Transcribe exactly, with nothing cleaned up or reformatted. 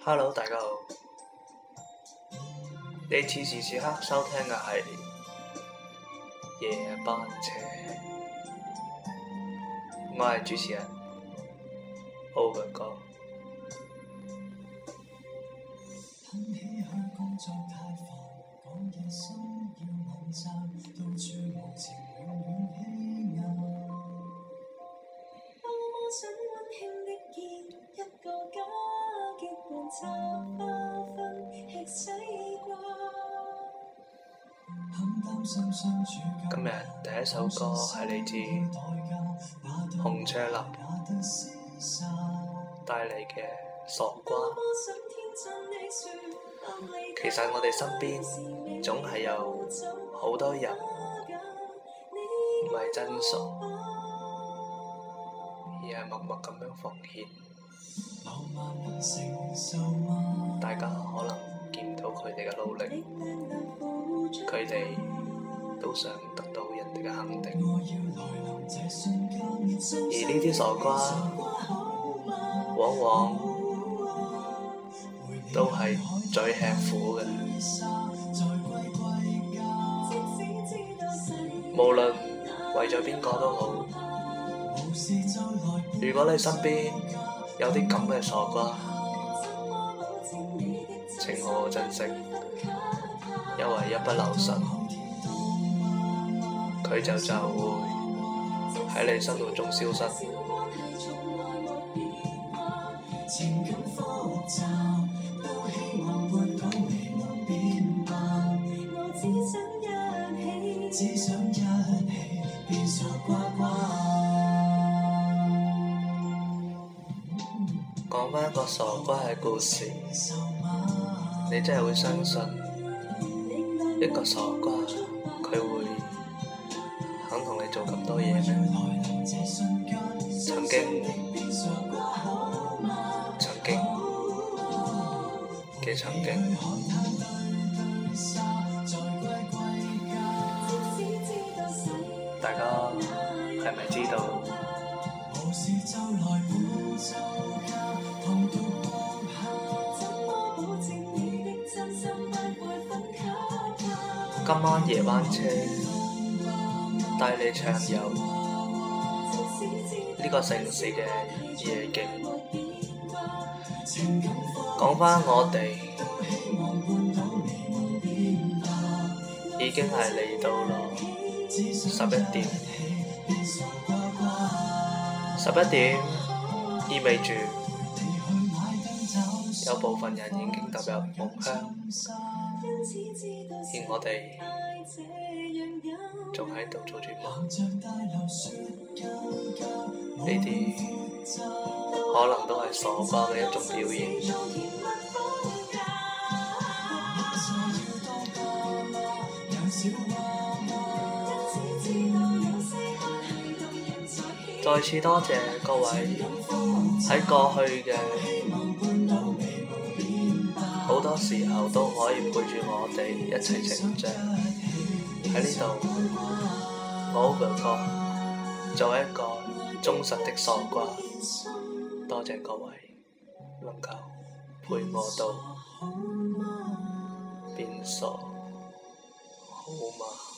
Hello， 大家好，你此時此刻收聽嘅係夜班車，我係主持人 Over 哥。今日第一首歌係嚟自紅車林帶嚟嘅傻瓜。其實我哋身邊總係有好多人唔係真傻，而係默默咁樣奉獻。大家可能見唔到佢哋嘅努力，佢哋都想得到人哋嘅肯定，而呢啲傻瓜往往都係最吃苦嘅。無論為咗邊個都好，如果你身邊有啲咁嘅傻瓜，請好好珍惜，因為一不留神，佢就就會喺你生活中消失。講返一個傻瓜嘅故事，你真係會相信一個傻瓜佢會肯同你做咁多嘢咩？曾經，曾經嘅曾經，大家係咪知道？今晚夜班車帶你暢遊呢個城市嘅夜景。講返我哋已經係嚟到咗十一點，十一點意味住有部分人已經踏入夢鄉，而我哋仲喺度做住夢，呢啲可能都係傻瓜嘅一種表現。再次多謝各位喺過去嘅好多時候都可以陪住我哋一齊成長。喺呢度，我 Over 哥作為一個忠實的傻瓜，多謝各位能夠陪我到變傻，好嗎？